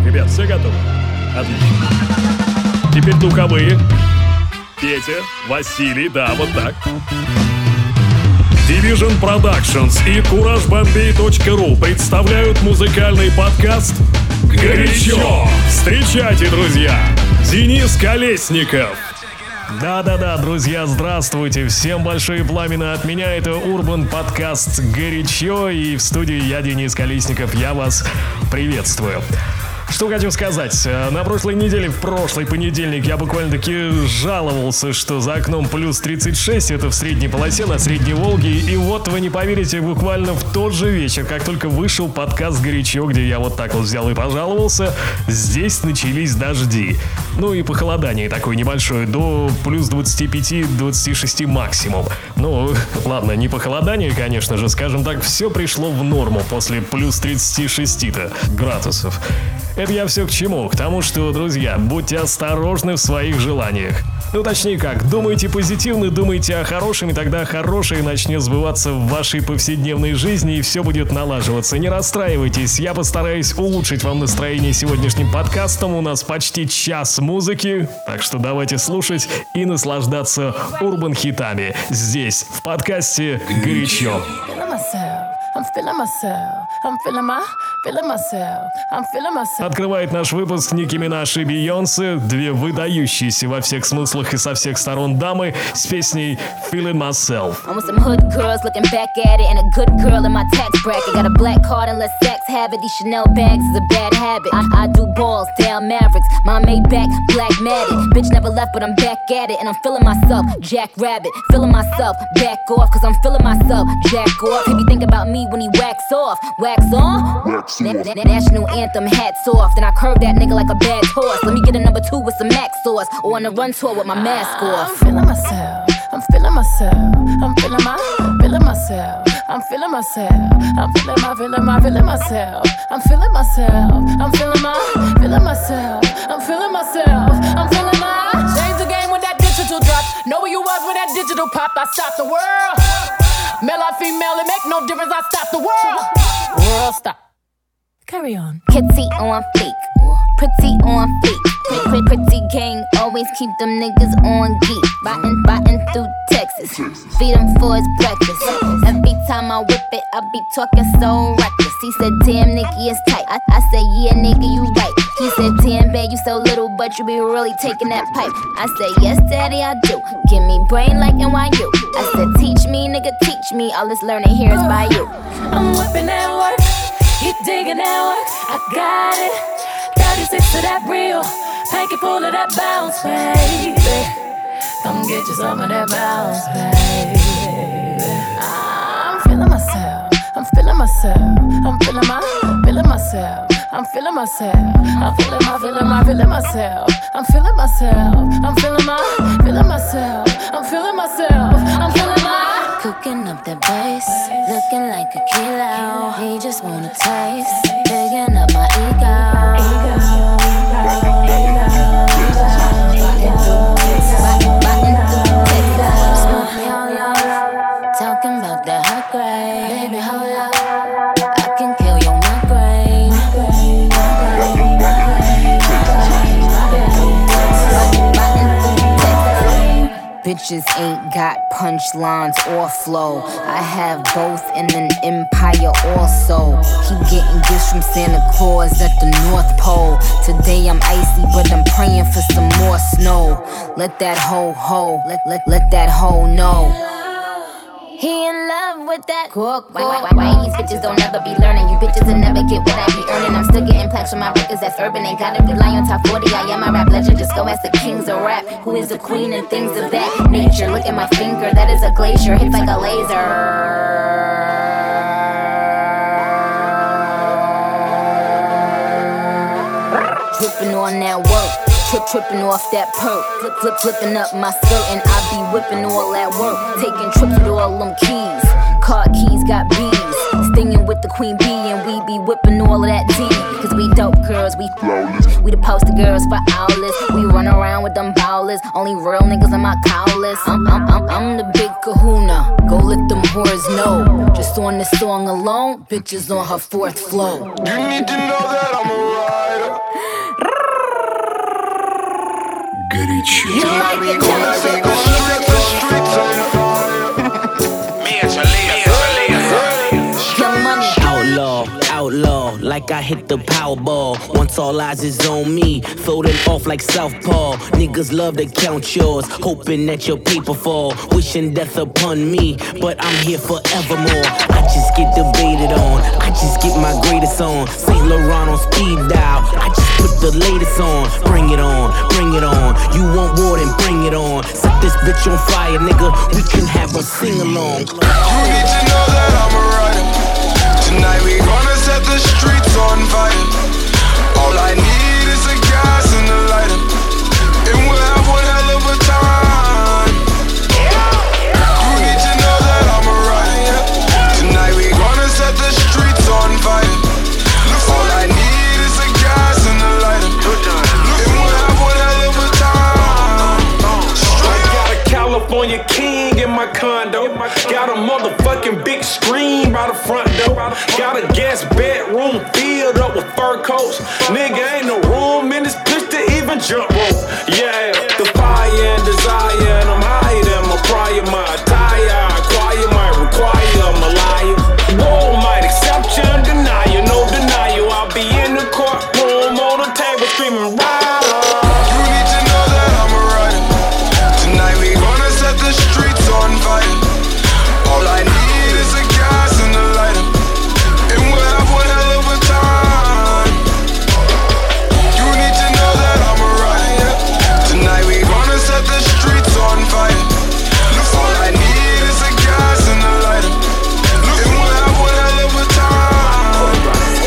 Ребят, все готовы? Отлично. Теперь духовые. Петя, Василий, да, вот так. Division Productions и CourageBombay.ru представляют музыкальный подкаст «Горячо». Встречайте, друзья, Денис Колесников. Да-да-да, друзья, здравствуйте. Всем большие пламена от меня. Это Urban подкаст «Горячо». И в студии я, Денис Колесников. Я вас приветствую. Что хочу сказать. На прошлой неделе, в прошлый понедельник, я буквально-таки жаловался, что за окном плюс 36, это в средней полосе, на Средней Волге. И вот, вы не поверите, буквально в тот же вечер, как только вышел подкаст «Горячо», где я вот так вот взял и пожаловался, здесь начались дожди. Ну и похолодание такое небольшое, до плюс 25-26 максимум. Ну, ладно, не похолодание, конечно же, скажем так, все пришло в норму после плюс 36 градусов. Это я все к чему? К тому, что, друзья, будьте осторожны в своих желаниях. Ну, точнее как, думайте позитивно, думайте о хорошем, и тогда хорошее начнет сбываться в вашей повседневной жизни, и все будет налаживаться. Не расстраивайтесь, я постараюсь улучшить вам настроение сегодняшним подкастом. У нас почти час музыки, так что давайте слушать и наслаждаться урбан-хитами здесь, в подкасте «Горячо». Открывает наш выпуск Ники Минаж и Бейонсе, две выдающиеся во всех смыслах и со всех сторон дамы, с песней Feeling Myself. I'm with some hood girls looking back at it, and a good girl in my tax bracket. Got a black card and let sex have it. These Chanel bags is a bad habit. I do balls, down Mavericks. My Maybach, black matted. Bitch never left, but I'm back at it, and I'm feeling myself, Jack Rabbit. Feeling myself, back off, cause I'm feeling myself, Jack off. He be think about me when he wax off. Wax on? Wax off. National anthem, hats off. Then I curve that nigga like a bad horse. Let me get a number 2 with some Max sauce, or on a run tour with my mask off. I'm feeling myself. I'm feeling myself. I'm feeling myself. I'm feeling myself. I'm feeling myself. I'm feeling myself. I'm feeling myself. I'm feeling myself. I'm feeling my. Change the game with that digital drop. Know where you was when that digital pop. I stopped the world. Male or female, it make no difference. I stopped the world. World stop. Carry on. Kitty on fleek, pretty on fleek. Pretty gang, always keep them niggas on geek. Biting through Texas, feed them for his breakfast. Every time I whip it, I be talking so reckless. He said, damn, Nicky, it's tight. I said, yeah, nigga, you right. He said, damn, babe, you so little, but you be really taking that pipe. I said, yes, daddy, I do. Give me brain like NYU. I said, teach me, nigga, teach me. All this learning here is by you. I'm whipping that work. He digging that work, I got it. 36 to that real, pinky full of that bounce, baby. Come get you some of that bounce, baby. I'm feeling myself, I'm feeling myself, I'm feeling myself, I'm feeling myself, I'm feeling myself, I'm feeling myself, I'm feeling myself, I'm feeling myself, I'm feeling my. Cooking up that bass, looking like a kilo. He just wanna taste, digging up my talking about that hot grade. Baby, hold up, I can kill your migraine. Bitches ain't got punchlines or flow. I have both in an empire also. Keep getting gifts from Santa Claus at the North Pole. Today I'm icy, but I'm praying for some more snow. Let that hoe, let that hoe know. He in love with that cook. Why these bitches don't ever be learning? You bitches will never get what I be earning. I'm still getting plaques from my records that's urban. Ain't gotta rely on top 40. I am my rap legend. Just go ask the kings of rap. Who is the queen and things of that nature? Look at my finger, that is a glacier. Hits like a laser. Dripping on that work. Tripping off that perk, flipping up my skirt, and I be whipping all that work. Taking trips with all them keys, car keys got bees. Stinging with the queen bee, and we be whipping all of that tea. Cause we dope girls, we flawless. We the poster girls for owlets. We run around with them bowlers. Only real niggas on my cowlers. I'm the big kahuna. Go let them whores know. Just on this song alone, bitches on her fourth flow. You need to know that I'm a rider. Горячо. Outlaw, like I hit the Powerball. Once all eyes is on me, throw them off like Southpaw. Niggas love to count yours, hoping that your paper fall. Wishing death upon me, but I'm here forevermore. I just get debated on, I just get my greatest on. St. Laurent on speed dial, I just put the latest on. Bring it on, bring it on. You want war, then bring it on. Set this bitch on fire, nigga. We can have a sing-along. You need to know that I'm a rider. Tonight we gonna set the streets on fire. All I need is a gas and a lighter, and we'll have one hell of a time. You need to know that I'm a rider. Tonight we gonna set the streets on fire. All I need is a gas and a lighter, and we'll have one hell of a time. I got a California king in my condo. Got a motherfucking big screen by the front door. Got a guest bedroom filled up with fur coats. Nigga, ain't no room in this bitch to even jump rope. Yeah, the fire and desire, and I'm higher than my prior. My attire, acquire might require I'm a liar. Whoa, might accept you and deny you, no denial. I'll be in the courtroom on the table screaming, ride. You need to know that I'm a rider. Tonight we gonna set the streets on fire. All I need is a gas and a lighter, and we'll have one hell of a time. You need to know that I'm a rider. Tonight we gonna set the streets on fire. All I need is a gas and a lighter, and we'll have one hell of a time.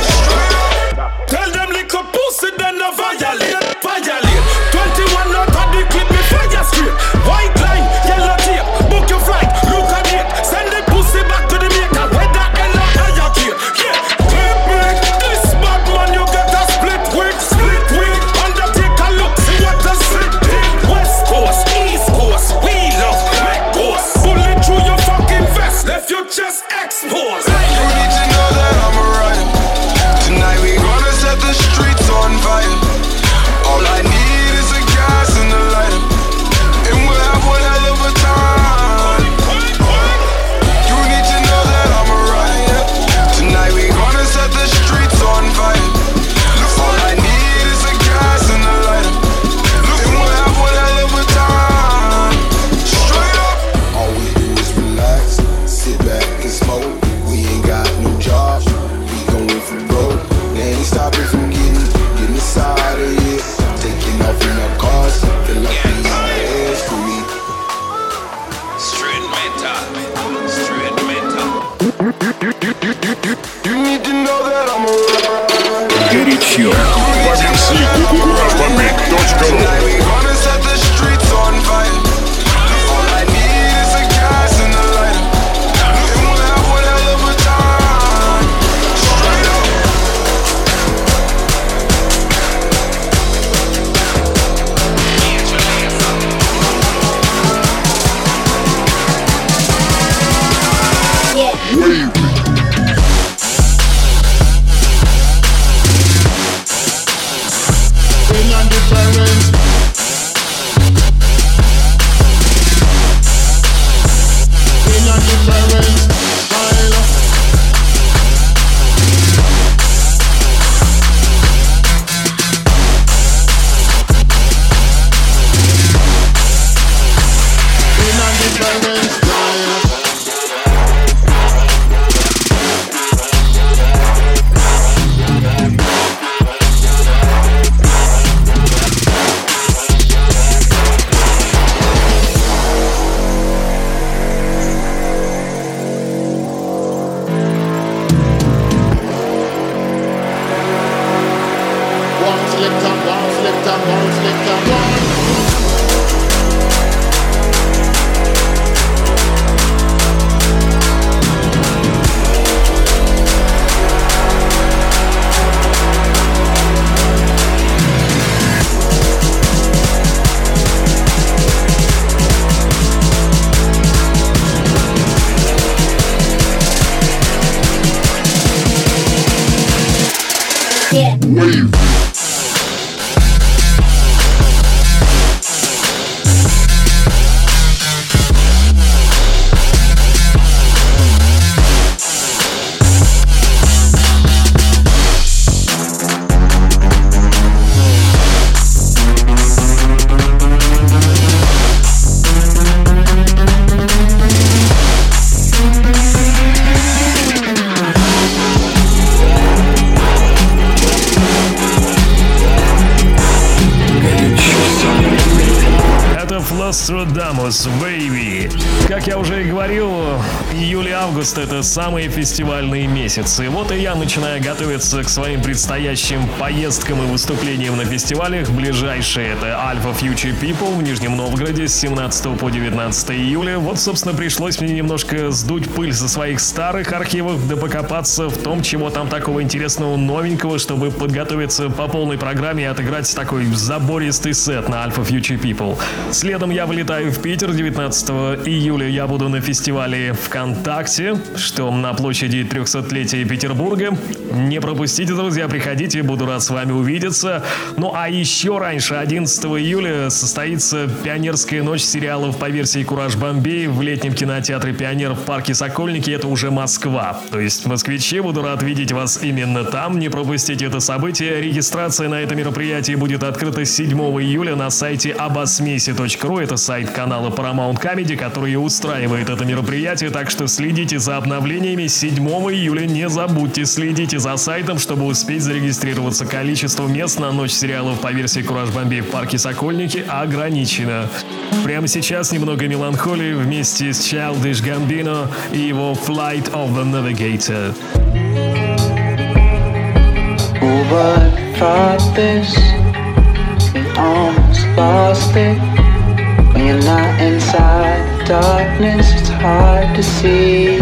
Tell them little pussy then no violate, violate. 21 out of the clip, me fire straight. White line, yellow tape, book your flight, look at it. Send the pussy back to the maker, whether hell or higher gear. Yeah, clip break, this bad man you get a split wig, split wig. Undertaker look, see what a slip did. West Coast, East Coast, we love Red Coast. Bullet through your fucking vest, left your chest exposed. You need to know that I'm a rider. Tonight we gonna set the streets on fire. All I need is a gas and a lighter, and we'll have one hell of a time. You need to know that I'm a rider. Tonight we gonna set the streets on fire. All I need is a gas and a lighter, and we'll have one hell of a time. Straight up. All we do is relax, sit back and smoke. We ain't got no job, we going for broke. They ain't stopping from getting us out of here. Taking off in our cars, feel like we on the air street. Straight mental. You need to know that I'm a rider. Горячо. По версии GarageBandMix.ru. Tonight we gonna set the streets on fire. All I need is a gas and a lighter, and we'll have one hell of a time. Straight up. Wave. Nostradamus, baby. Как я уже и говорил, июль и август — это самые фестивальные месяцы. Вот и я начинаю готовиться к своим предстоящим поездкам и выступлениям на фестивалях. Ближайшие — это Alpha Future People в Нижнем Новгороде с 17 по 19 июля. Вот, собственно, пришлось мне немножко сдуть пыль со своих старых архивов, да покопаться в том, чего там такого интересного, новенького, чтобы подготовиться по полной программе и отыграть такой забористый сет на Alpha Future People. Следом я вылетаю в Питер. 19 июля я буду на фестивале ВКонтакте, что на площади 300-летия Петербурга. Не пропустите, друзья, приходите, буду рад с вами увидеться. Ну а еще раньше, 11 июля, состоится пионерская ночь сериалов по версии «Кураж Бомбей» в летнем кинотеатре «Пионер» в парке Сокольники. Это уже Москва. То есть москвичи, буду рад видеть вас именно там. Не пропустите это событие. Регистрация на это мероприятие будет открыта 7 июля на сайте abasmesi.ru. Это сайт канала Paramount Comedy, который устраивает это мероприятие, так что следите за обновлениями. 7 июля не забудьте, следите за сайтом, чтобы успеть зарегистрироваться. Количество мест на ночь сериалов по версии «Кураж Бомбей» в парке Сокольники ограничено. Прямо сейчас немного меланхолии вместе с Childish Gambino и его Flight of the Navigator. Almost lost it. When you're not inside the darkness, it's hard to see.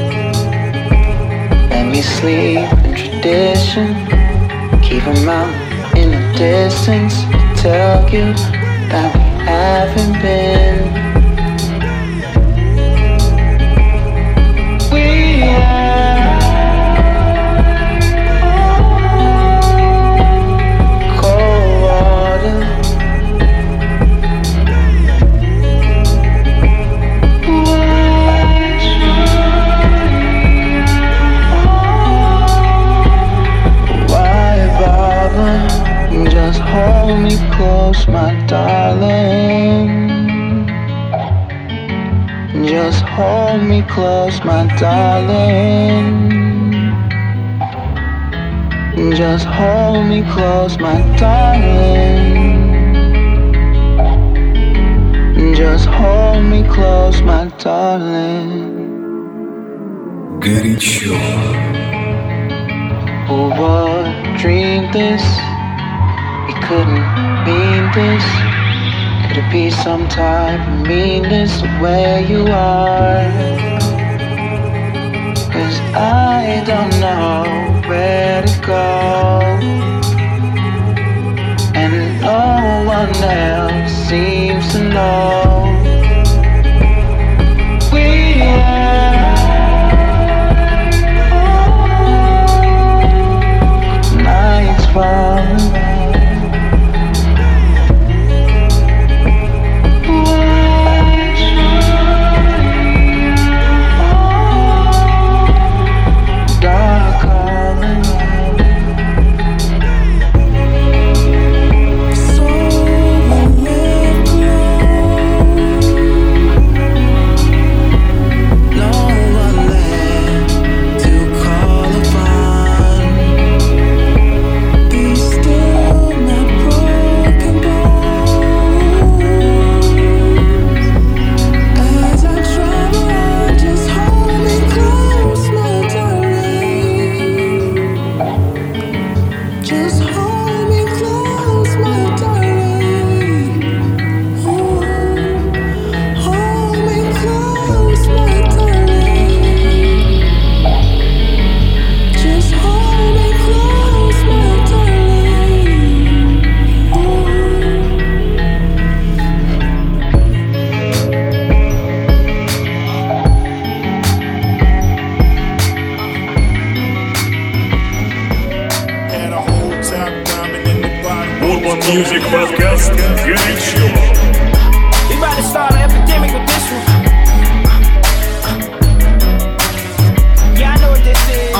Let me sleep in tradition. Keep them out in the distance. Tell you that we haven't been. We are cold water. Just hold me close, my darling. Just hold me close, my darling. Just hold me close, my darling. Just hold me close, my darling. Горячо. Who would dream this? We couldn't mean this. Could it be some type of meanness of where you are? 'Cause I don't know where to go, and no one else seems to know. We are nights falling. Music Podcast горячо. We about to start an epidemic with this one. Yeah, I know what this is.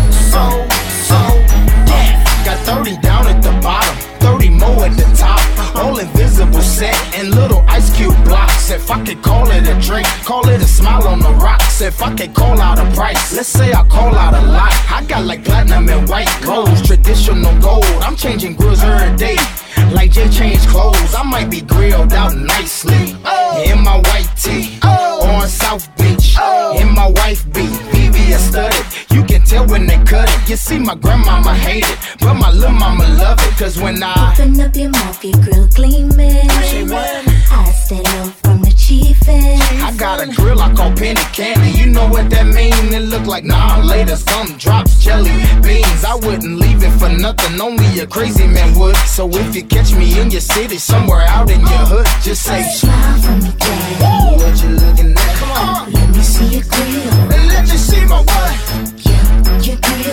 Death. Got 30 down at the bottom, 30 more at the top. All invisible set and little ice cube blocks. If I could call it a drink, call it a smile on the rocks. If I could call out a price, let's say I call out a lot. I got like platinum and white gold, traditional gold. I'm changing grills every day. Like Jay changed clothes. clothes. I might be grilled out nicely. In my white tee, on South Beach. In my wife beat, VVS studded. You can tell when they cut it. You see, my grandmama hate it, but my little mama love it. Cause when I open up your mouth, your grill gleaming. Say what? I stay low from the chiefin'. I got a grill I call penny candy. You know what that mean? It look like nah later. Some drops jelly beans. I wouldn't leave it for nothing. Only a crazy man would. So if you catch me in your city, somewhere out in your hood, just say smile for me, daddy. What you looking at? Come on. Let me see your grill. And let me see my what? Yeah, your grill.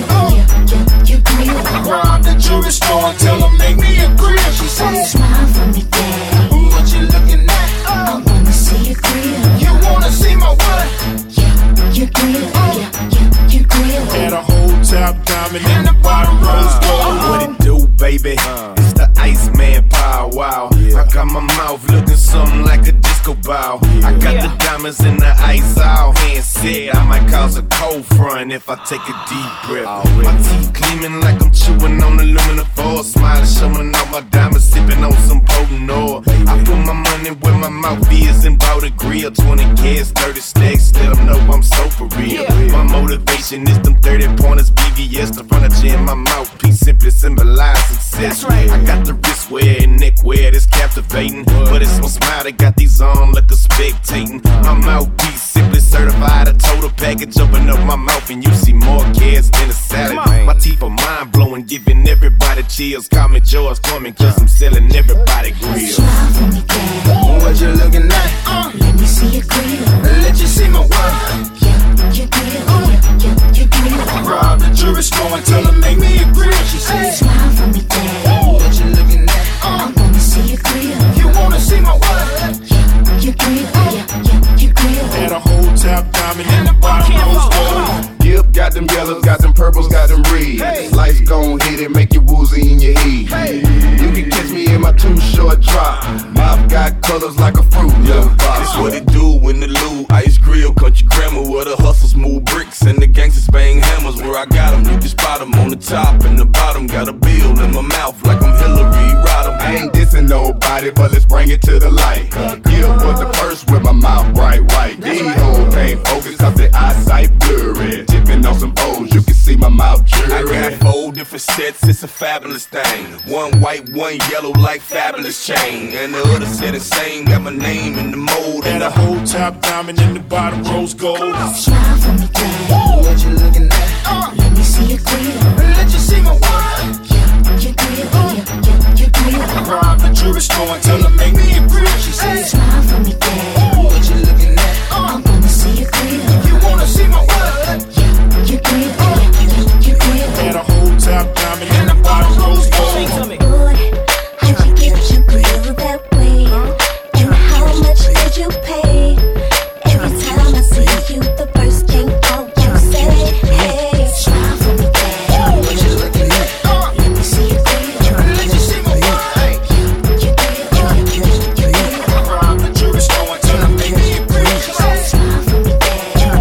Your grill. Rob the jewelry store and tell them make me a grill. She said smile for me, daddy. What you looking at? I wanna see your grill. You wanna see my what? Yeah, your grill. Your grill. Had a whole top diamond and the bottom rose gold. What it do, baby? It's the Iceman Power Wow. I got my mouth looking something like a disco ball. I got the diamonds in the ice all hand said I might cause a cold front if I take a deep breath. My teeth gleaming like I'm chewing on aluminum foil. Smiling, showing off my diamonds, sipping on some potent oil. I put my money where my mouth is and bought a grill. 20 kids, 30 stacks, let them know I'm so for real. My motivation is them 30 pointers, BVS, the furniture in my mouthpiece simply symbolize success. I got the wrist wear and neck wear that's captivating, but it's my smile that got these on like a spectating. My mouthpiece simply certified, a total package. Open up my mouth and you see more kids than a salad. My teeth are mind blowing, giving everybody chills. Call me George Foreman, cause I'm selling everybody grills. Smile for me, daddy. What you looking at? Let me see your grill. Let you see my what? Yeah, your grill. Your grill. Rob the jewelry store and tell them make me a grill. She said smile for me, daddy. What you looking at? I wanna see your grill. You wanna see my what? Yeah, your grill. Your grill. Had a whole top diamond and the bottom rose gold. Yep, got them yellows, got them purples, got them reds. Life gon' hit it, make you woozy in your head. You can catch me in my too short drop. Mouth got colors like a fruit. It's what it do when the Lou Ice Grill, country grammar, where the hustles move bricks and the gangsters bang hammers. Where I got them, you can spot them on the top and the bottom. Got a bill in my mouth like I'm Hillary Rodham. I ain't dissing nobody, but let's bring it to the light. Yeah, was the first with my mouth bright white. These hoes can't focus cause their eyesight blurry. Tipping on some O's, you can see my mouth jury. I got 4 different sets, it's a fabulous thing. One white, one yellow like fabulous chain. And the other set is same, got my name in the mold. And a whole top diamond in the bottom rose gold. Smile for me, daddy. What you looking at? Let me see your grill. Let you see my what? Yeah, your grill. Your grill. Rob the jewelry store and tell them make me a grill. She said smile for me, daddy. What you looking at? I wanna see your grill. You wanna see my what? Yeah, your grill. Your grill. Had a whole top diamond and the bottom rose gold. Boy, how'd you get your grill that way? And how much did you pay? Every time I see you, the first thing out you say, hey, smile for me, daddy. What you looking at? Let me see your grill. Let you see my what? Your grill. Your grill. Rob the jewelry store and tell them make me a grill. She said Smile for me, daddy. I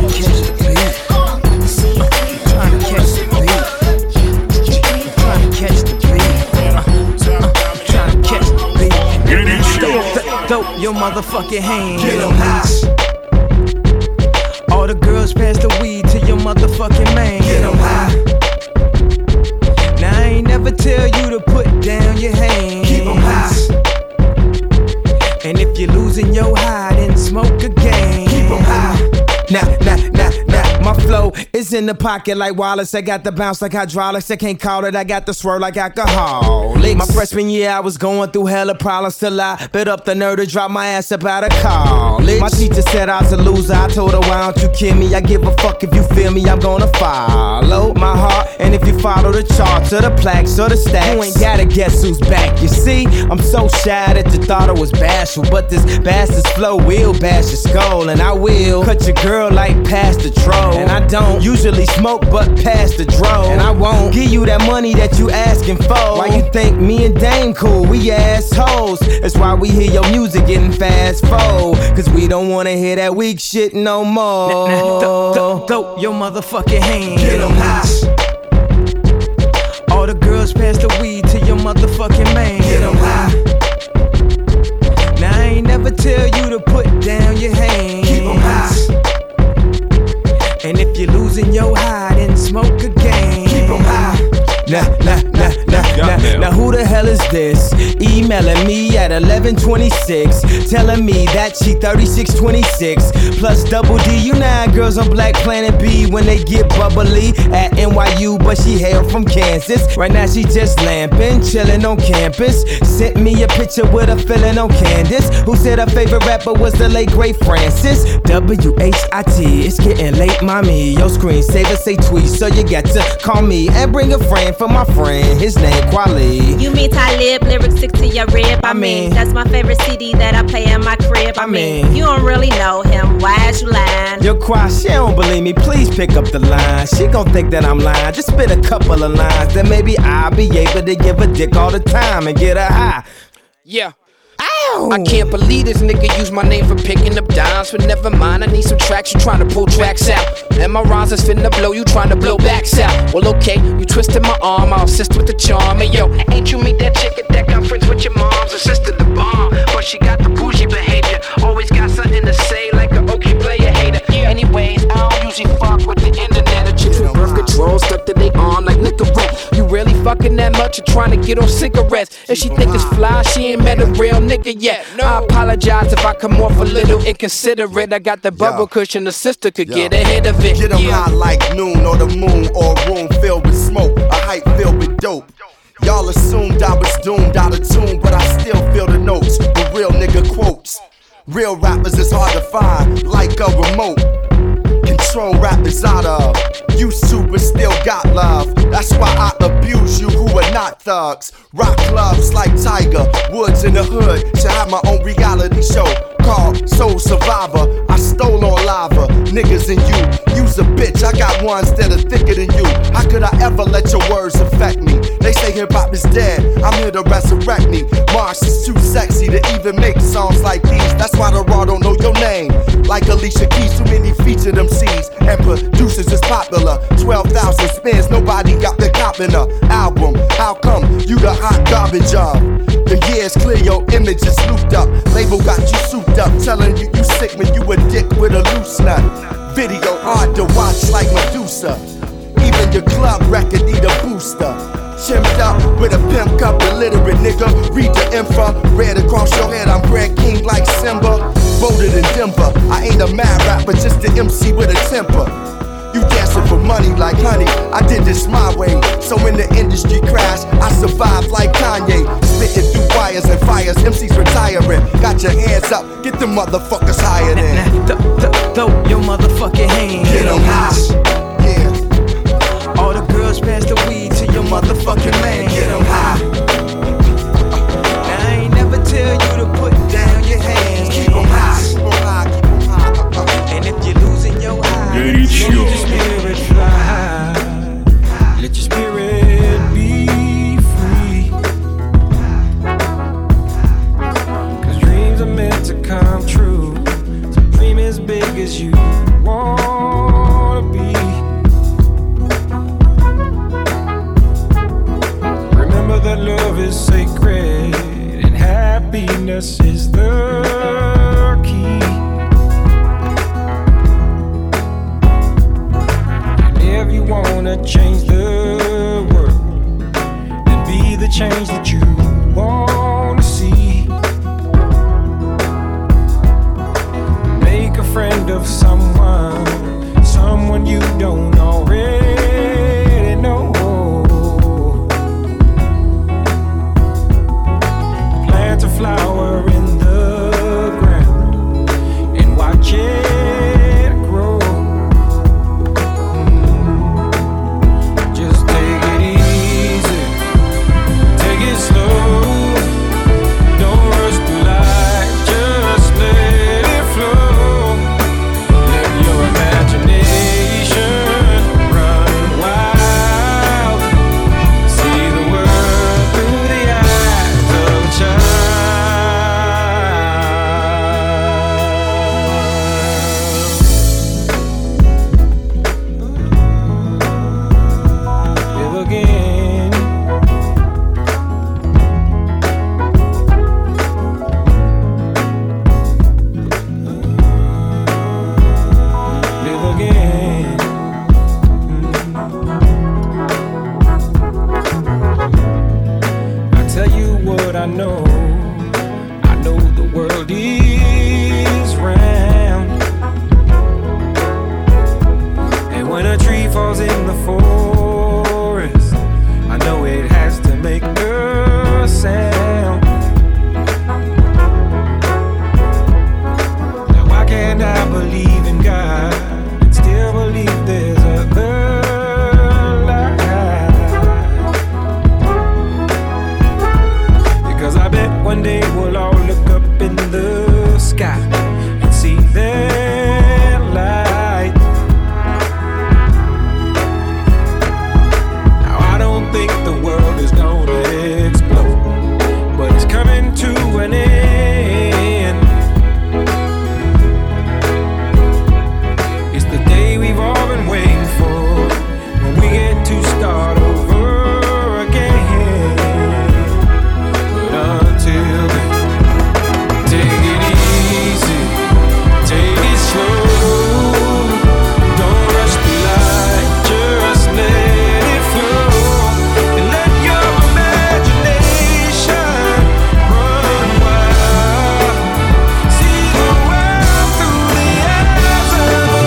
wanna see your grill. you wanna see my what? Catch the Had a whole top diamond and the bottom rose gold. Throw your motherfucking hands. Get 'em high. All the girls pass the weed to your motherfucking man. Get 'em high. Now I ain't never tell you to put down your hands. Keep 'em high. And if you're losing your high, then smoke again. Keep 'em high. Nah, my flow is in the pocket like Wallace. I got the bounce like hydraulics. I can't call it, I got the swirl like alcohol. My freshman year, I was going through hella problems till I bit up the nerve to drop my ass up out of college. My teacher said I was a loser. I told her, why don't you kill me? I give a fuck if you feel me, I'm gonna follow my heart. And if you follow the charts or the plaques or the stacks, you ain't gotta guess who's back. You see, I'm so shy that you thought I was bashful, but this bastard's flow will bash your skull. And I will cut your girl like past the troll. And I don't usually smoke but past the dro. And I won't give you that money that you asking for. Why you think me and Dame cool? We assholes. That's why we hear your music getting fast forward, cause we don't wanna hear that weak shit no more. Throw your motherfucking hands. Get 'em high. All the girls pass the weed to your motherfucking man. Get 'em high. hell is this? Emailing me at 11:26, telling me that she 3626 plus double D. You know how girls on Black Planet B when they get bubbly at NYU, but she hail from Kansas. Right now she just lamping, chilling on campus. Sent me a picture with a feeling on Candace, who said her favorite rapper was the late great Francis. WHIT, it's getting late, mommy. Your screensaver say tweet, so you got to call me and bring a friend for my friend. His name Kweli. You mean Talib, lyrics stick to your rib. I mean, that's my favorite CD that I play in my crib. I mean, you don't really know him. Why is you lying? Yo, Kwa, she don't believe me. Please pick up the line. She gon' think that I'm lying. Just spit a couple of lines, then maybe I'll be able to give a dick all the time and get her high. Yeah. Ow. I can't believe this nigga used my name for picking up dimes. But never mind, I need some tracks. You trying to pull tracks out, and my rhymes is finna blow. You trying to blow backs out. Well, okay, you twisted my arm. I'll assist with the charm. And yo, ain't you meet that chick at that conference with your mom's sister, the bomb? But she got the bougie behavior. Always got something to say, like a okay player hater. Anyways, I don't usually fuck with the internet. A chicks with birth control stuck to they arm like Nicorette. You really fucking that much or trying to get on cigarettes? If she think it's fly, she ain't met a real nigga yet. I apologize if I come off a little inconsiderate. I got the bubble cushion, the sister could get ahead of it. Get them high like noon or the moon, or a room filled with smoke, a hype filled with dope. Y'all assumed I was doomed out of tune, but I still feel the notes with real nigga quotes. Real rappers is hard to find, like a remote. Control rappers out of, used to but still got love. That's why I abuse you who are not thugs. Rock clubs like Tiger Woods in the hood. Should have my own reality show called Soul Survivor. I stole on lava, niggas and you. You's a bitch, I got ones that are thicker than you. How could I ever let your words affect me? They say hip hop is dead, I'm here to resurrect me. Mars is too sexy to even make songs like these. That's why the raw don't know your name. Like Alicia Keys, too many featured MCs and producers is popular. 12,000 spins, nobody got the cop in a album. How come you the hot garbage of? The years clear, your image is looped up. Label got you souped up, telling you sick when you a dick with a loose nut. Video hard to watch like Medusa. Even your club record need a booster. Chimmed up with a pimp cup, illiterate nigga. Read the info, red across your head. I'm Brad King like Simba. Voted in Denver. I ain't a mad rapper, just an MC with a temper. You dancing for money like honey, I did this my way. So when the industry crashed, I survived like Kanye. Spitting through wires and fires, MCs retiring. Got your hands up, get the motherfuckers higher than. Throw your motherfucking hands. Get them high. Yeah. All the girls pass the weed to your motherfucking man. Get them high. Now I ain't never tell you to put down your hands. Keep them high. And if you're losing your eyes, Горячо. let your spirit fly. Let your spirit be free. 'Cause dreams are meant to come true. So dream as big as you wanna be. Remember that love is sacred and happiness is the key. If you wanna change the world, then be the change that you wanna see. Make a friend of someone you don't already know. Plant a flower in the ground and watch it grow. Just take it easy, take it slow. what I know the world is round. And when a tree falls in the forest, I know it has to make a sound. Now why can't I believe in God and still believe there's other life? Because I bet one day we'll all look up in the sky and see that light. Now I don't think the world is gonna explode, but it's coming to an end. It's the day we've all been waiting for, when we get to start over again. But until then, take it easy, take it slow. Don't rush the light, just let it flow. And let your imagination run wild. See the world through the eyes of a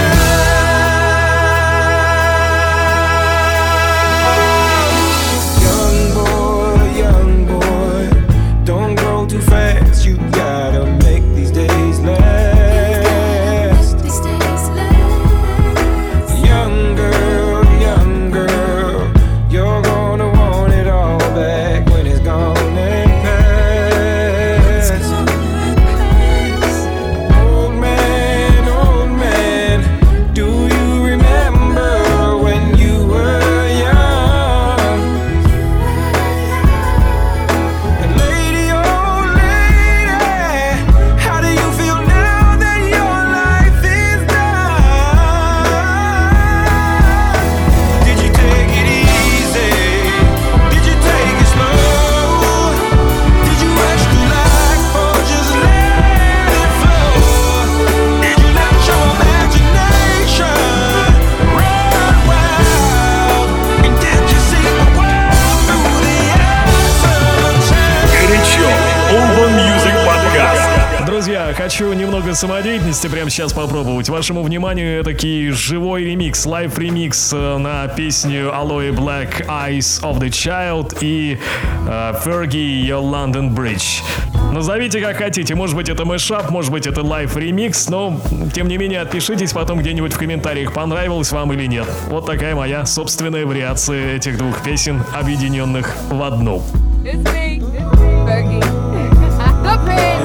child. Young boy, don't grow too fast. You gotta make these days last. Young girl, you're gonna want it all back when it's gone and past. Old man, do you remember when you were young? And lady, oh lady, how do you feel now that your life is done? Did you take it easy? Did you take it slow? Did you rush through life or just let it flow? Did you let your imagination run wild? And did you see the world through the eyes of a child? Горячо. Urban Music Podcast. Друзья, хочу немного самодеятельности прямо сейчас попробовать. Вашему вниманию этакий живой ремикс, лайв-ремикс на песню Aloe Black Eyes of the Child и Fergie Your London Bridge. Назовите как хотите, может быть это мэшап, может быть это лайв-ремикс, но тем не менее отпишитесь потом где-нибудь в комментариях, понравилось вам или нет. Вот такая моя собственная вариация этих двух песен, объединенных в одну. It's me, Fergie. The Pin.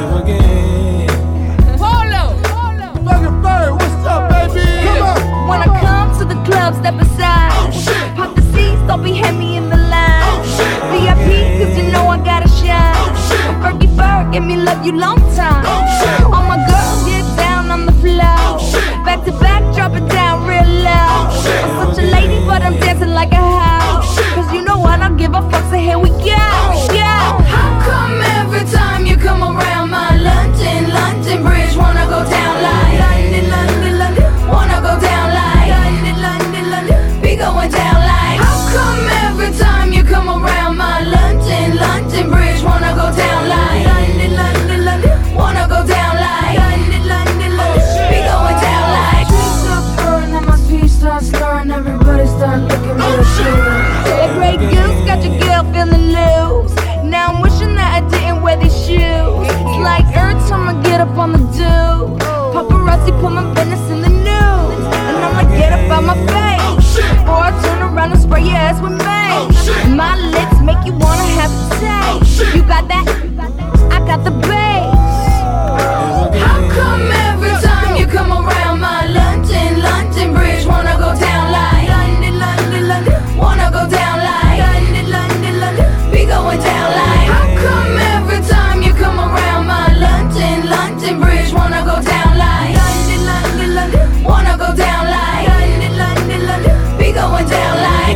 Polo. Fucking Bird, what's up, baby? Come on. When I come to the club, step aside. Pop the seats, don't be heavy in the line. VIP, cause you know I gotta shine. Fergie Ferg, give me love you long time. All my girls get down on the floor. Back to back, drop it down real low. I'm such a lady, but I'm dancing like a house. Cause you know I don't give a fuck, so here we go. Yeah. How come every time you come around my London Bridge wanna go down like London, wanna go down like London, be going down like. How come every time you come around my London Bridge wanna go down like London, wanna go down like London, be going down like. Trees start purring and my speech starts slurring. Everybody start looking real shit. That Grey Goose got your girl feeling loose. Now I'm wishing that I didn't wear these shoes. It's like every time I get up on the do, paparazzi put my business in the news. And I'ma get up out my face before I turn around and spray your ass with mace. My lips make you wanna have a taste. You got that? I got the bass. How come every time you come around my London Bridge wanna go down like London, wanna go down like London, be going down like. How come every time you come around my London Bridge wanna go down like London, wanna go down like London, be going down like.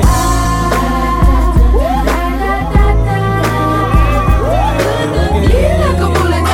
Yeah, like a bullet.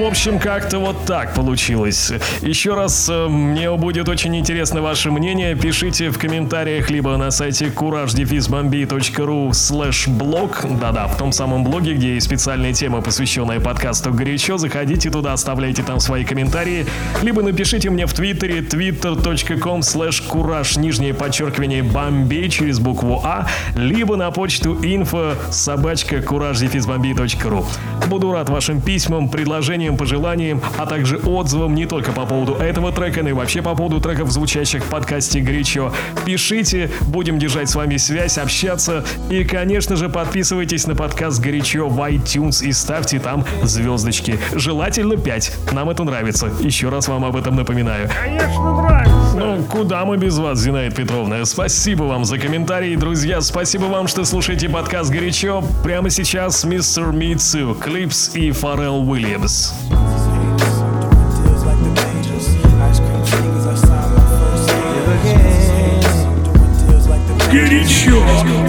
общем, как-то вот так получилось. Еще раз, мне будет очень интересно ваше мнение. Пишите в комментариях либо на сайте courage-bombay.ru/blog. Да-да, в том самом блоге, где есть специальная тема, посвященная подкасту «Горячо». Заходите туда, оставляйте там свои комментарии. Либо напишите мне в Твиттере twitter.com/courage_Bombay через букву А. Либо на почту info@courage-bombay.ru. Буду рад вашим письмам, предложениям, пожеланиям, а также отзывам не только по поводу этого трека, но и вообще по поводу треков, звучащих в подкасте «Горячо». Пишите, будем держать с вами связь, общаться. И, конечно же, подписывайтесь на подкаст «Горячо» в iTunes и ставьте там звездочки. Желательно 5. Нам это нравится. Еще раз вам об этом напоминаю. Конечно, нравится. Ну, куда мы без вас, Зинаида Петровна? Спасибо вам за комментарии, друзья. Спасибо вам, что слушаете подкаст «Горячо». Прямо сейчас Mr. Me Too, Clips и Pharrell Williams. Горячо.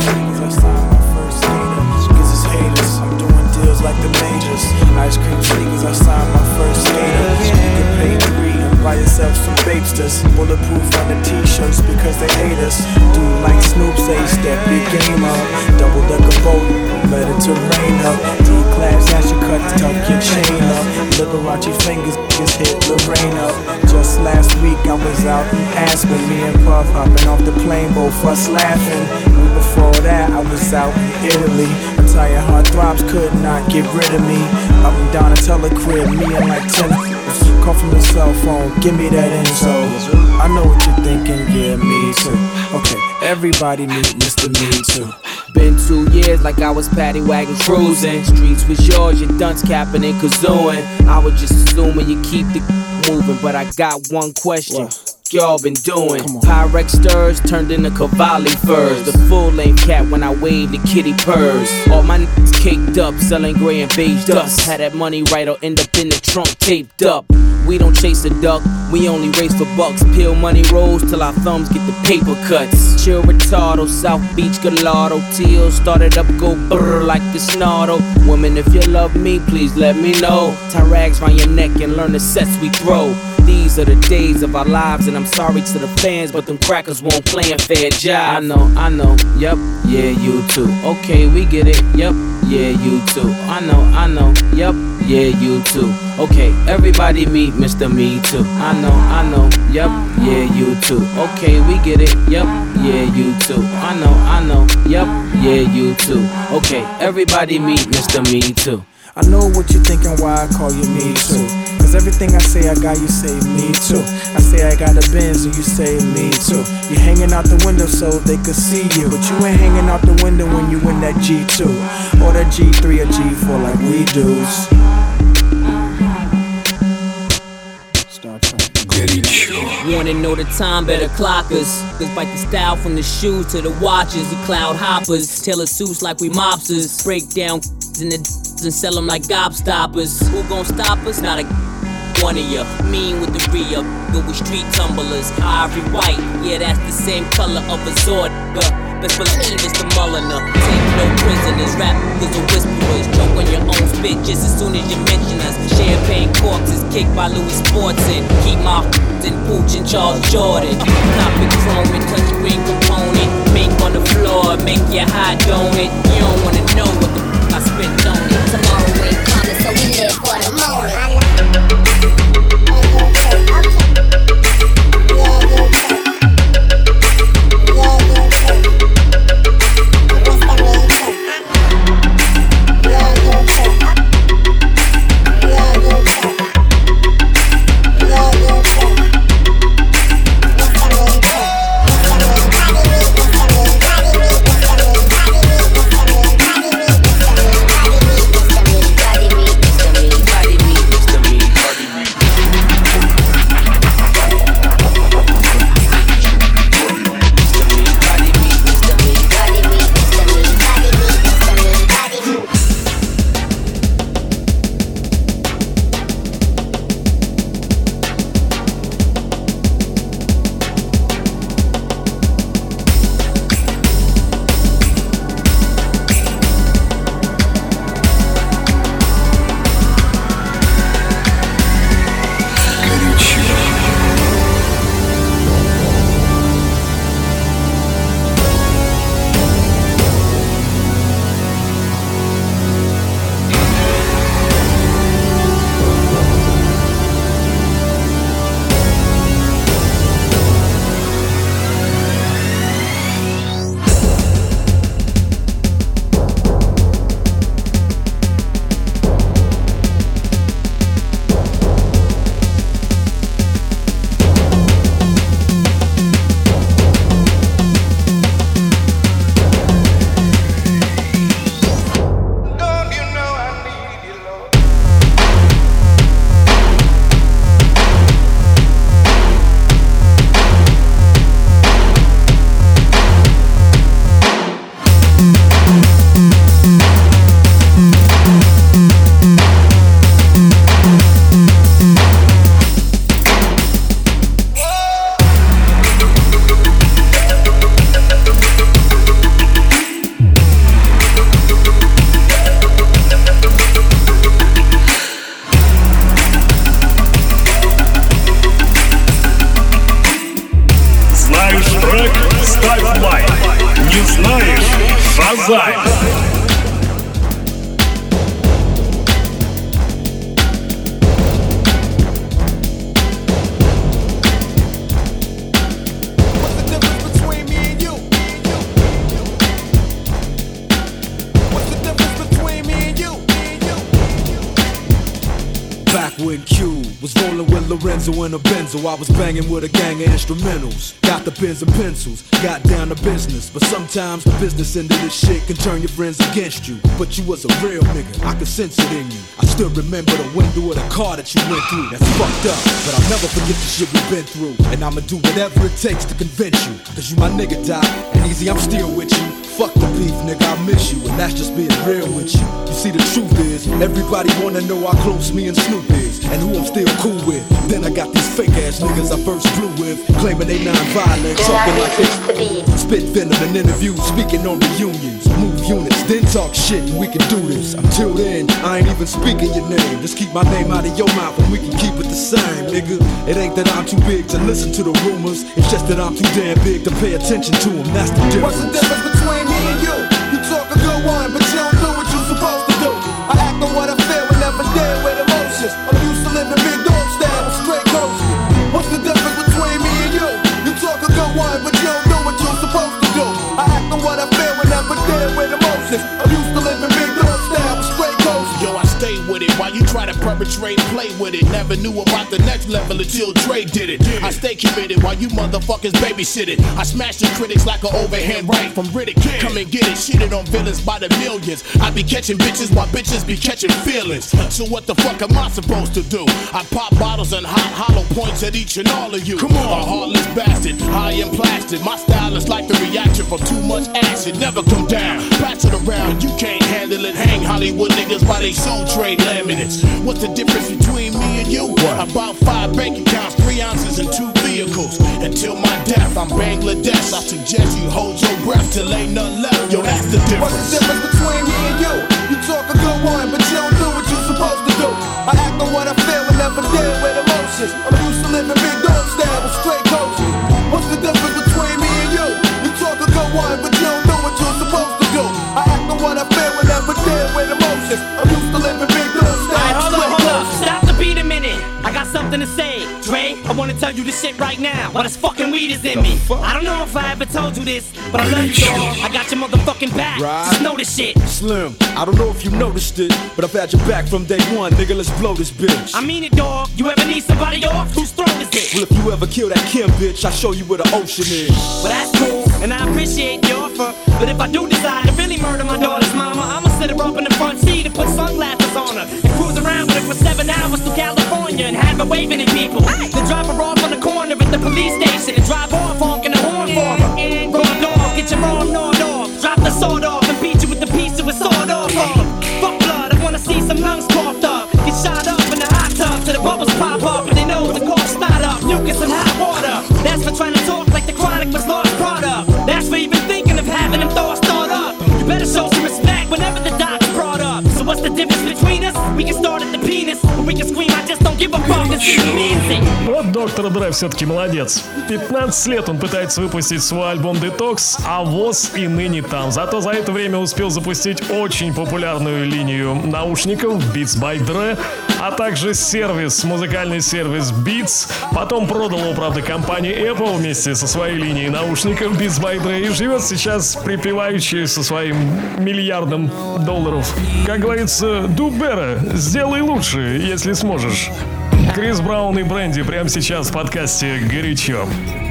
Like the majors, ice cream sneakers, I signed my first skater. You can pay free and buy yourself some babesters. Bulletproof on the t-shirts because they hate us. Do like Snoop say, step your game up. Double decker boat, Mediterranean. D-class, now she cut, tuck your chain up. Liberace fingers, just hit Lorraine up. Just last week I was out in Aspen. Me and Puff hopping off the plane, both us laughing. Before that I was out in Italy. Entire heartthrobs could not get rid of me. Up and down a telecrib, me and like 10 call from the cell phone, give me that info. I know what you're thinking, yeah, me too. Okay, everybody meet Mr. Me Too. Been 2 years like I was paddy wagon cruising. Streets was yours, your dunce capping and kazooing. I was just assuming you keep the moving, but I got one question. Y'all been doing Pyrex stirs turned into Cavalli furs. The full length cat when I waved the kitty purrs. All my niggas caked up, selling gray and beige dust. Had that money right, or end up in the trunk taped up. We don't chase a duck, we only race for bucks. Peel money rolls till our thumbs get the paper cuts. Chill retardo, South Beach Gallardo. Teal started up, go brrr like the snardo. Woman, if you love me, please let me know. Tie rags round your neck and learn the sets we throw. These are the days of our lives, and I'm sorry to the fans, but them crackers won't play a fair job. I know, yup, yeah, you too. Okay, we get it, yup, yeah, you too. I know, yup, yeah, you too. Okay, everybody meet Mr. Me Too. I know, yup, yeah, you too. Okay, we get it, yup, yeah, you too. I know, yup, yeah, you too. Okay, everybody meet Mr. Me Too. I know what you're thinking, why I call you Me Too. Cause everything I say I got, you say me too. I say I got a Benz and you say me too. You hanging out the window so they could see you, but you ain't hanging out the window when you in that G2 or that G3 or G4 like we dudes. Wanna know the time, better clock us. Cause bite the style from the shoes to the watches. We cloud hoppers, tailor suits like we mobsters. Break down in the and sell them like gobstoppers. Who gon' stop us? Not a one of ya. Mean with the re-up, go with street tumblers. Ivory white, yeah, that's the same color of a Zord. Best believe it's the Mulliner. Take no prisoners, rap niggas are whisperers. Choke on your own spit just as soon as you mention us. Champagne corpses kicked by Louis Sportson. Keep my in Pooch and Charles Jordan. Topic chrome and touchscreen component. Mink on the floor, make you hot, don't it? You don't wanna know what the I spent on it. Tomorrow ain't coming, so we live for the moment. when Q was rolling with Lorenzo and a Benzo. I was banging with a gang of instrumentals. Got the pens and pencils, got down to business. But sometimes the business end of this shit can turn your friends against you. But you was a real nigga, I could sense it in you. I still remember the window of the car that you went through. That's fucked up, but I'll never forget the shit we've been through. And I'ma do whatever it takes to convince you. Cause you my nigga, Doc, and easy, I'm still with you. Fuck the beef, nigga, I miss you, and that's just being real with you. You see, the truth is, everybody wanna know how close me and Snoop is, and who I'm still cool with. Then I got these fake ass niggas I first flew with, claiming they non-violent, talking like they spit venom in interviews, speaking on reunions, move units, then talk shit, and we can do this. Until then, I ain't even speaking your name. Just keep my name out of your mouth, and we can keep it the same, nigga. It ain't that I'm too big to listen to the rumors, it's just that I'm too damn big to pay attention to them. That's the difference. What's the difference between me and you? You talk a good one, but you don't do what you're supposed to do. I act on what I feel and never deal with emotions. I'm used to living big dog style with straight coaches. What's the difference between me and you? You talk a good one, but you don't do what you're supposed to do. I act on what I feel and never deal with emotions. I'm used to living big dog style with straight coaches. Yo, I stay with it while you try to perpetrate, play with it. Never knew about the next level until Dre did it. I stay committed while you motherfuckers babysit it. I smash the critics like an overhand right from Riddick. Come and get it, shitted on villains by the millions. I be catching bitches while bitches be catching feelings. So what the fuck am I supposed to do? I pop bottles and hot hollow points at each and all of you. Come on, a heartless bastard, high and plastic. My style is like the reaction from too much acid. Never come down, pass it around. You can't handle it. Hang Hollywood niggas by they soul trade laminates. What's the difference between me and you? About 5 bank accounts, 3 ounces and 2 vehicles. Until my death, I'm Bangladesh. I suggest you hold your breath till ain't nothing left. Yo, that's the difference. What's the difference between me and you? You talk a good one, but you don't do what you're supposed to do. I act on what I feel and never deal with emotions. I'm used to living big dog style with straight coaches. What's the difference between me and you? You talk a good one, but you don't do what you're supposed to do. I act on what I feel and never deal with emotions. I'm used to living big dog style with straight coaches. Stop the beat a minute. I got something to say. Dre, I wanna tell you this shit right now. While this fucking weed is in me. I don't know if I ever told you this, but I love you, dog. I got your motherfucking back. Just know this shit. Slim, I don't know if you noticed it, but I've had your back from day one, nigga. Let's blow this bitch. I mean it, dog. You ever need somebody off? Whose throat is it? Well, if you ever kill that Kim bitch, I'll show you where the ocean is. Well, that's cool, and I appreciate the offer. But if I do decide to really murder my daughter's mama, I'ma sit her up in the front seat and put sunglasses on her and cruise around with her for 7 hours to California and have her waving at people. Then drop her off on the corner at the police station and drive off honking the horn for her. Raw dog, get your arm gnawed off. Drop the sword off and beat you with the piece of a sword off. Fuck blood, I wanna see some lungs coughed up. Get shot up in the hot tub till the bubbles pop up and they know the cough start up. Mucus and hot water. That's for trying to talk like the Chronic was lost product. That's for even thinking of having them thoughts start up. You better show some respect whenever the doc's brought up. So what's the difference between us? We can start at the penis, or we can scream, I just don't give a fuck. It's amazing. Вот доктор Dre все-таки молодец. 15 лет он пытается выпустить свой альбом Detox, а ВОЗ и ныне там. Зато за это время успел запустить очень популярную линию наушников Beats by Dre, а также сервис, музыкальный сервис Beats. Потом продал его, правда, компании Apple вместе со своей линией наушников Beats by Dre и живет сейчас припеваючи со своим миллиардом долларов. Как говорится, do better, сделай лучше, если сможешь. Крис Браун и Брэнди прямо сейчас в подкасте «Горячо».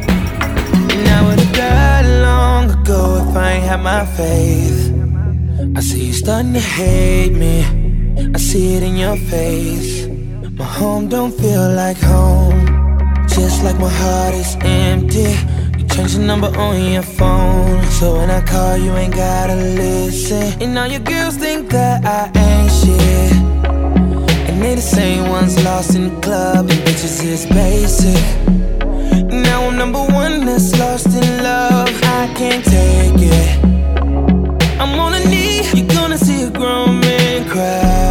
I see you starting to hate me. I see it in your face. My home don't feel like home. Just like my heart is empty. You change the number on your phone, so when I call you ain't gotta listen. And now your girls think that I ain't shit, and they the same ones lost in the club, and bitches is basic. Now I'm number one that's lost in love. I can't take it. I'm on a knee. You're gonna see a grown man cry.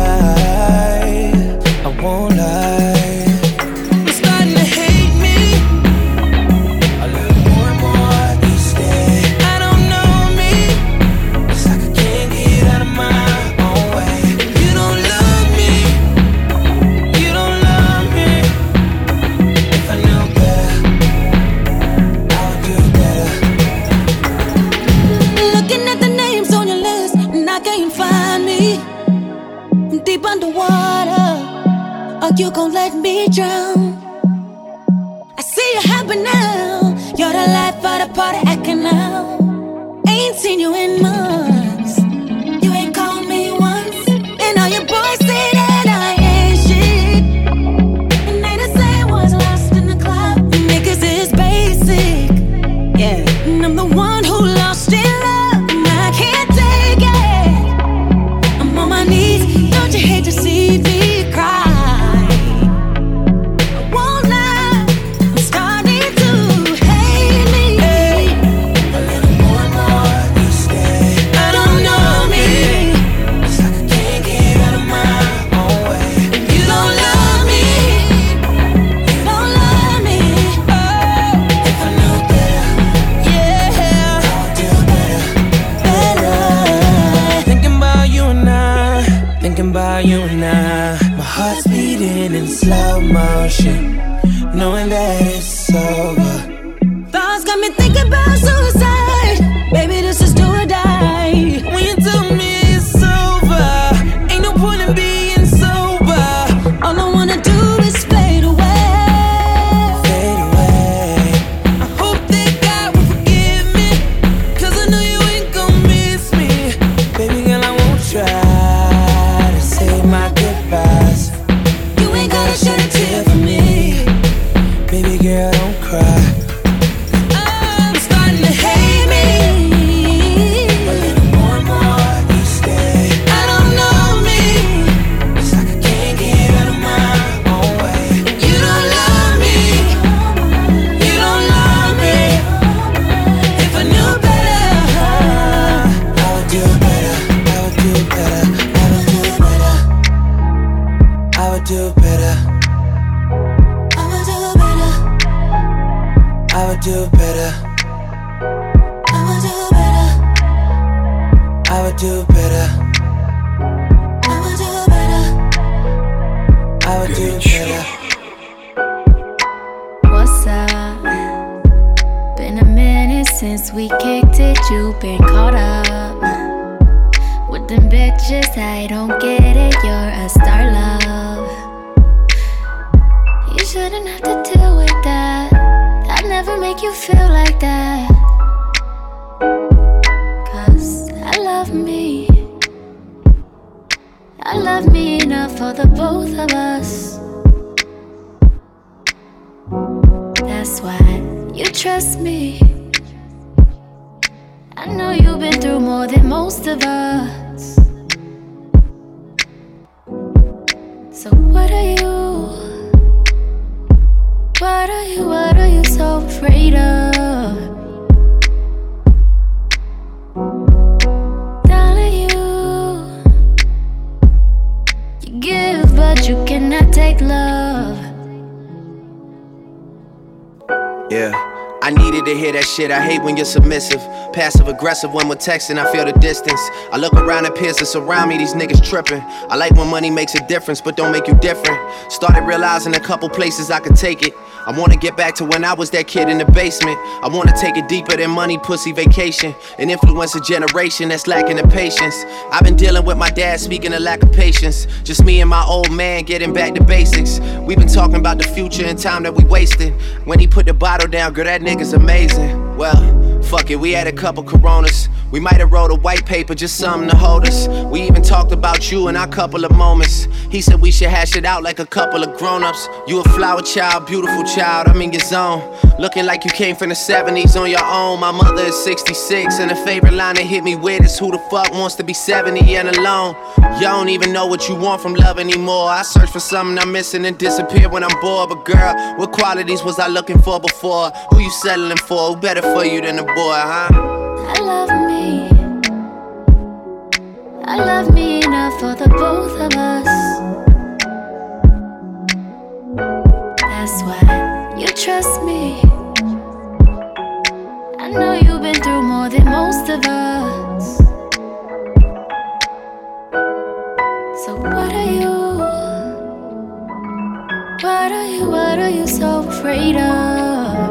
I won't lie. You're starting to hate me a little more and more each day. I don't know me. It's like I can't get out of my own way. You don't love me. You don't love me. If I knew better, I would do better. Looking at the names on your list, and I can't find me. I'm deep underwater. or you gon' let me drown. I see you happen now. You're the life of the party acting now. Ain't seen you in months. You ain't called me once. And all your boys say that I ain't shit. And they the same ones lost in the club. Niggas is basic. Yeah. And I'm the one who lost in love. And I can't take it. I'm on my knees. Don't you hate to see me cry? You and I, my heart's beating in slow motion, knowing that it's over. Thoughts got me thinking about suicide. Baby, this is do or die. When you tell me it's over, ain't no point in being sober. All I wanna do is fade away. Fade away. I hope that God will forgive me, 'cause I know you ain't gon' miss me. Baby girl, I won't try. My goodbyes. You ain't gotta shed a tear for me. Baby girl, don't cry. I'm starting to hate me. A little more and more each day. I don't know me. It's like I can't get out of my own way. You don't love me. You don't love me. If I knew better, I would do better. I would do better. I would do better. I would do better. I would do better. I would do better. I would do better. I would do better. I would do better. What's up? Been a minute since we kicked it. You've been caught up with them bitches. I don't get it. You're a star, love. You shouldn't have to deal with that. I'd never make you feel like that. 'Cause I love me. I love me enough for the both of us. That's why you trust me. I know you've been through more than most of us. So what are you? What are you so afraid of? Darling, you give, but you cannot take love. Yeah, I needed to hear that shit. I hate when you're submissive, passive aggressive when we're texting. I feel the distance. I look around and peers that surround me. These niggas tripping. I like when money makes a difference, but don't make you different. Started realizing a couple places I could take it. I wanna get back to when I was that kid in the basement. I wanna take it deeper than money, pussy, vacation, and influence a generation that's lacking the patience. I've been dealing with my dad, speaking of lack of patience. Just me and my old man getting back to basics. We've been talking about the future and time that we wasted. When he put the bottle down, girl, that nigga's amazing. Well, fuck it, we had a couple Coronas. We might have wrote a white paper, just something to hold us. We even talked about you in our couple of moments. He said we should hash it out like a couple of grown-ups. You a flower child, beautiful child, I'm in your zone. Looking like you came from the 70s on your own. My mother is 66, and the favorite line that hit me with is, who the fuck wants to be 70 and alone? You don't even know what you want from love anymore. I search for something I'm missing and disappear when I'm bored. But girl, what qualities was I looking for before? Who you settling for? Who better for you than a boy, huh? I love me. I love me enough for the both of us. That's why you trust me. I know you've been through more than most of us. So what are you? What are you so afraid of?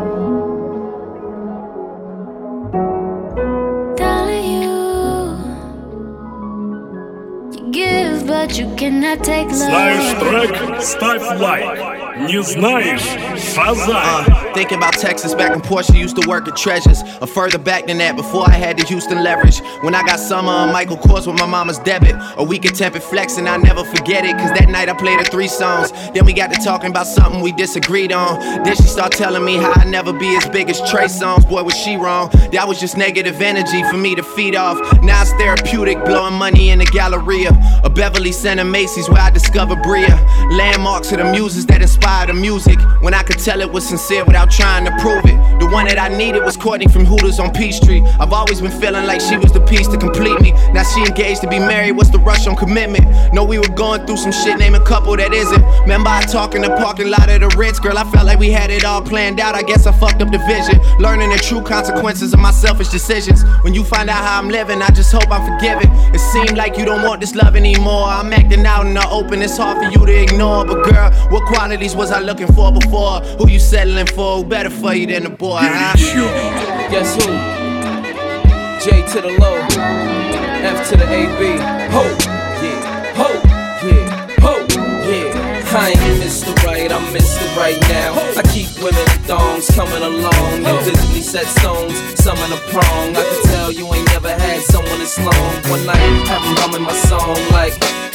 Darling, you give, but you can I take love? Знаешь трек? Ставь лайк. Не знаешь? Шазай. Thinking about Texas back when Portia used to work at Treasures, or further back than that before I had the Houston leverage. When I got Summer on Michael Kors with my mama's debit, a week of Tempered Flex and I never forget it, cause that night I played her 3 songs. Then we got to talking about something we disagreed on. Then she started telling me how I'd never be as big as Trey Songz. Boy, was she wrong. That was just negative energy for me to feed off. Now it's therapeutic, blowing money in the Galleria, a Beverly Center Macy's where I discovered Bria. Landmarks of the muses that inspired the music, when I could tell it was sincere without trying to prove it. The one that I needed was Courtney from Hooters on Peachtree. I've always been feeling like she was the piece to complete me. Now she engaged to be married, what's the rush on commitment? Know we were going through some shit, name a couple that isn't. Remember I talk in the parking lot of the Ritz, girl, I felt like we had it all planned out. I guess I fucked up the vision, learning the true consequences of my selfish decisions. When you find out how I'm living, I just hope I'm forgiven. It seemed like you don't want this love anymore. I'm acting out in the open, it's hard for you to ignore. But girl, what qualities was I looking for before? Who you settling for? Who better for you than the boy, huh? Guess who? J to the low, F to the AB. Ho, yeah, ho, yeah, ho, yeah. I ain't Mr. Right, I'm Mr. Right now. I keep women in thongs coming along. You visibly set stones, some in a prong. I can tell you ain't never had someone this long. One night, have them humming my song like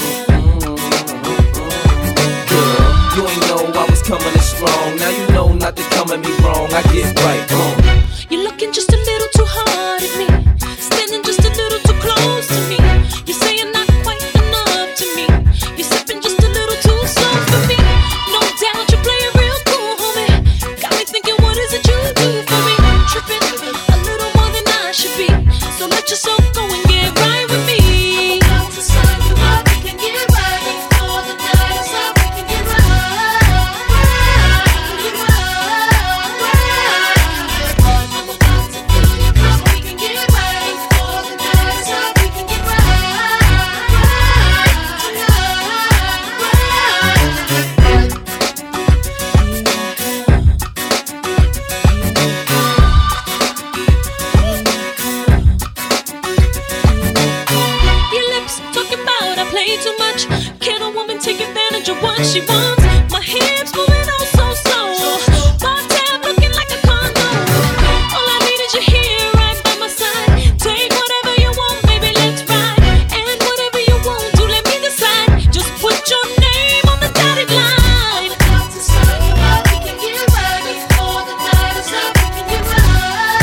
girl, you ain't know I was coming in strong. Now you know not to come at me wrong. I get right on. You're looking just a little too hard at me, standing just a little too close to me. You're saying not quite enough to me. You're sipping just a little too slow for me. No doubt you're playing real cool, homie. Got me thinking, what is it you do for me? Tripping a little more than I should be. So let yourself go and get right with me. I'm about to sign you up, we can get right before the night is up. We can get right. Too much. Can a woman take advantage of what she wants? My hips moving on so slow. My tab looking like a condo. All I need is you here right by my side. Take whatever you want, baby, let's ride. And whatever you want, do let me decide. Just put your name on the dotted line. I'm about to sign you up, we can get right before the night is up. We can get right.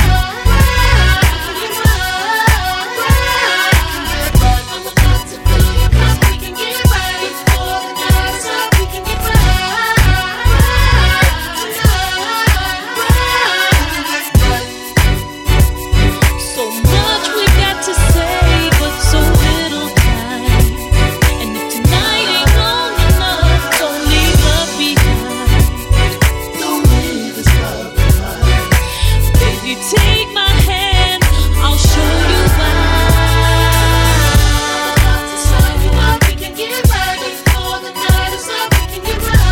I'm about to fill your cup. We can get right before the night is up. We can get right. So much we got to say, but so little time. And if tonight ain't long enough, don't leave us behind. Don't leave us behind. Baby, take my hand, I'll show you why. We can get right before the night is up. We can get right.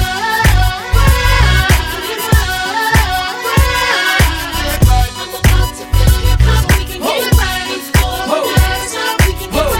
I'm about to fill your cup. We can get right before the night is up. We can get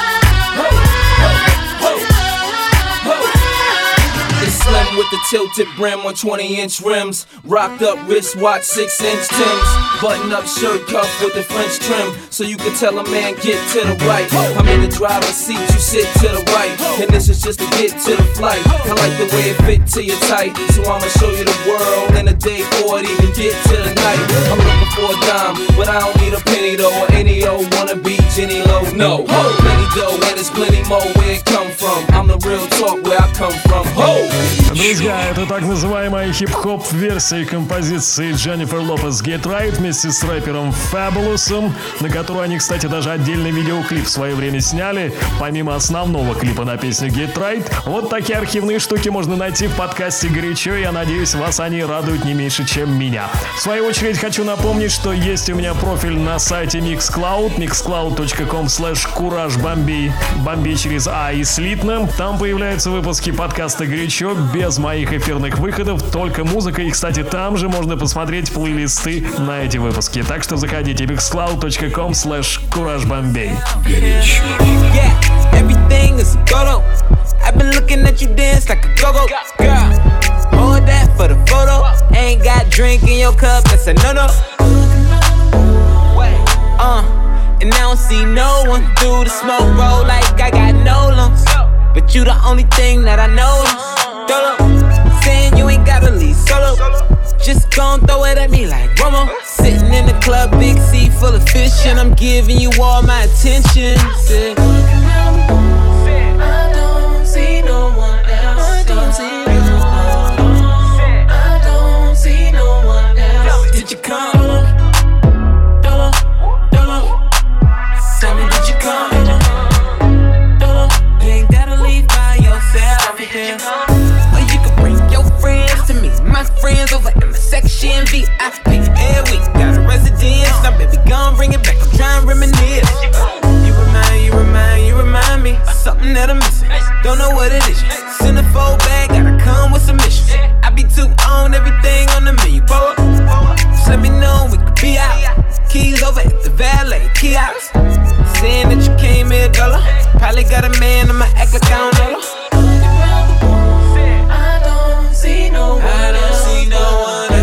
right. It's slim with the tilted brim on 20-inch rims. Rocked up wristwatch, 6-inch Timbs. Button up shirt cuff with the French trim, so you can tell a man get to the right. I'm in the driver's seat, you sit to the right. And this is just to get to the flight. I like the way it fit to your tight, so I'ma show you the world in a day before it even get to the night. I'm looking for a dime, but I don't need a penny though. Or any old wanna be Jenny Low. No, plenty dough and there's plenty more where it come from. I'm the real talk where I come from. Ho! Друзья, это так называемая хип-хоп версия композиции Дженнифер Лопес Get Right вместе с рэпером Fabulous'ом, на которую они, кстати, даже отдельный видеоклип в свое время сняли, помимо основного клипа на песню Get Right. Вот такие архивные штуки можно найти в подкасте «Горячо». Я надеюсь, вас они радуют не меньше, чем меня. В свою очередь хочу напомнить, что есть у меня профиль на сайте Mixcloud, mixcloud.com/CourageBombay, Бомбей через А и слитно. Там появляются выпуски подкаста «Горячо» без моих эфирных выходов, только музыка. И, кстати, там же можно посмотреть плейлисты на эти выпуски. Так что заходите mixcloud.com/CourageBombay. Everything is ghetto. I've been looking at you dance like a go-go. Girl, hold that for the photo. Ain't got drink in your cup, that's a no-no. And I don't see no one through the smoke roll like I got no lungs. But you the only thing that I know. Dolo, saying you ain't gotta leave solo. Just gon' throw it at me like Romo. Sitting in the club, big sea full of fish, and I'm giving you all my attention. I don't see no one else. I don't see no one else. I don't see no one else. Did you come? Dolo, Dolo. Tell me, did you come? Dolo, you ain't gotta leave by yourself here. Or you can bring your friends to me, my friends over in my section VIP. And we got a residence, now baby, gon' bring it back. I'm trying to reminisce. You remind me of something that I'm missing. Don't know what it is. Send a fold back, gotta come with some missions. I be too on everything on the menu. Pull up, just let me know we could be out. Keys over at the valet kiosk. Saying that you came here, dollar. Probably got a man, I'ma act like I don't know. I don't see no one else. I don't see no one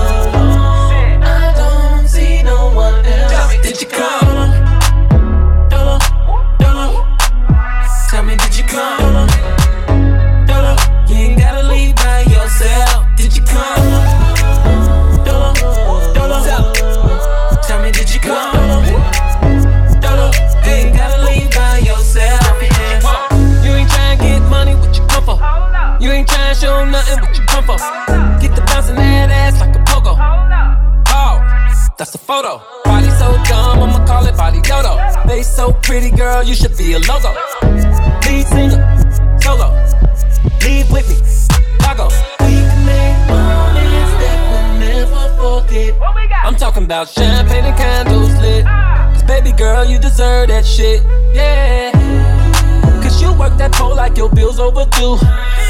else. Did you come? Dolo, Dolo. Tell me, did you come? Dolo, you ain't gotta leave by yourself. Did you come? Dolo, Dolo. Tell me, did you come? Dolo, you ain't gotta leave by yourself. You ain't tryna get money, what you come for? You ain't tryna show nothing, what you come for? Get the bouncing that ass like a pogo. Oh, that's a photo. Body so dumb, I'ma call it body dodo. Face so pretty, girl, you should be a logo. Lead singer, solo. Leave with me, Lago. We can make moments that we'll never forget. I'm talking about champagne and candles lit. Cause baby girl, you deserve that shit, yeah. Cause you work that pole like your bill's overdue.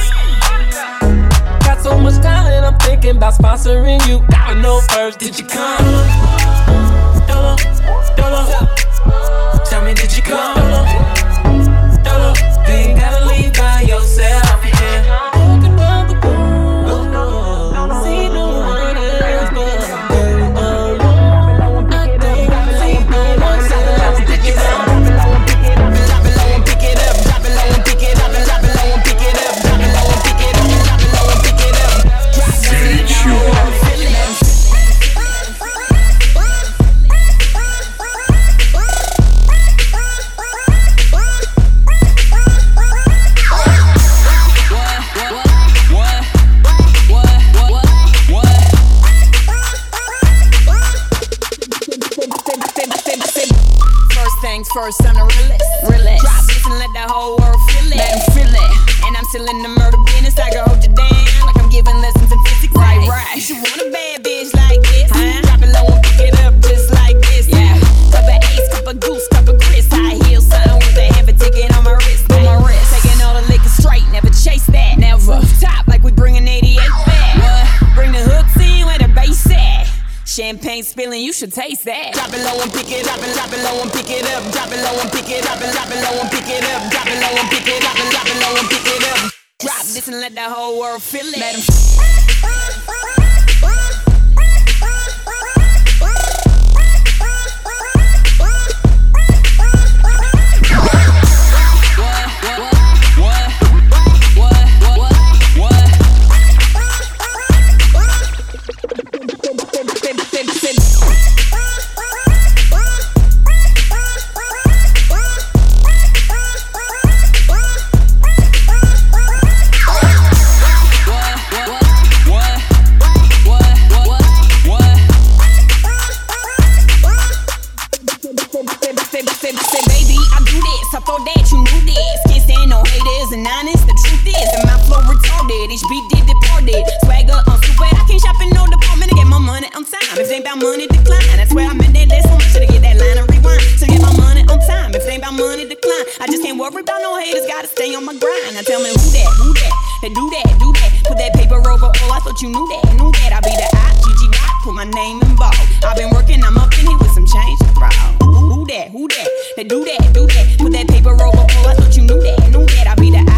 Got so much talent, I'm thinking about sponsoring you. Gotta know first, did you come? Dolo, Dolo. Tell me, did you come? Dolo, Dolo. You ain't gotta leave by yourself, yeah. See no one else but first, I'm the realest. Drop this and let the whole world feel it. Let them feel it. And I'm still in the murder business. I can hold you down like I'm giving lessons in physics. Right. You should want a bad bitch like this. Drop it low and pick it up just like this. Yeah. Cup of ace, cup of goose, cup of Chris. High heels, something with a heavy ticket on my wrist. Taking all the liquor straight, never chase that. Never. Top like we bringing 88 back. What? Bring the hooks in where the bass at. Champagne spilling, you should taste that. Drop it low and pick it up and drop it low and pick it up. Drop it low and pick it up and drop it low and pick it up. Drop it low and pick it up and drop it low and pick it up. Drop this and let the whole world feel it. Let 'em you knew that, I be the I-G-G rock, put my name in bold. I've been working, I'm up in here with some change to throw. Who that, they do that, put that paper over, oh, I thought you knew that, I be the I-G-G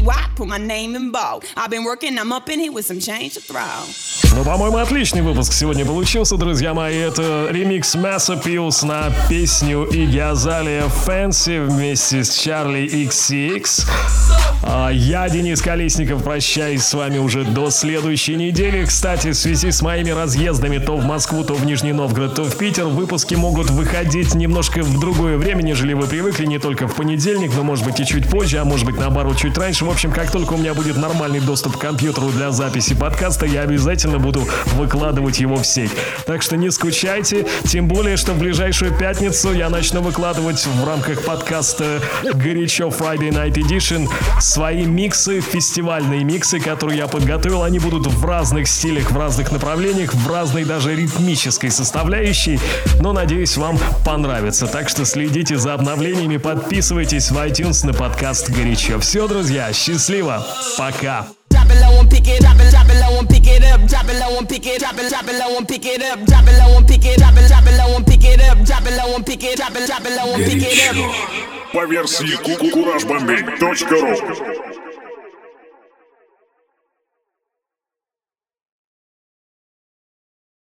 white, put my name in bold. I've been working, I'm up in here with some change to throw. Ну, по-моему, отличный выпуск сегодня получился, друзья мои. Это ремикс Mass Appeals на песню Игги Азалия Fancy вместе с Charli XCX. Я, Денис Колесников, прощаюсь с вами уже до следующей недели. Кстати, в связи с моими разъездами то в Москву, то в Нижний Новгород, то в Питер, выпуски могут выходить немножко в другое время, нежели вы привыкли, не только в понедельник, но может быть и чуть позже, а может быть наоборот чуть раньше. В общем, как только у меня будет нормальный доступ к компьютеру для записи подкаста, я обязательно буду выкладывать его в сеть. Так что не скучайте, тем более, что в ближайшую пятницу я начну выкладывать в рамках подкаста «Горячо Friday Night Edition» свои миксы, фестивальные миксы, которые я подготовил. Они будут в разных стилях, в разных направлениях, в разной даже ритмической составляющей, но, надеюсь, вам понравится. Так что следите за обновлениями, подписывайтесь в iTunes на подкаст «Горячо». Все, друзья, счастливо, пока! Drop it low and pick it, drop it low and pick it up, drop it low and pick it, drop it low and pick it up, drop it low and pick it, drop it low and pick it up, drop it low and pick it, drop it low and pick it up. По версии Courage Bombay.ru.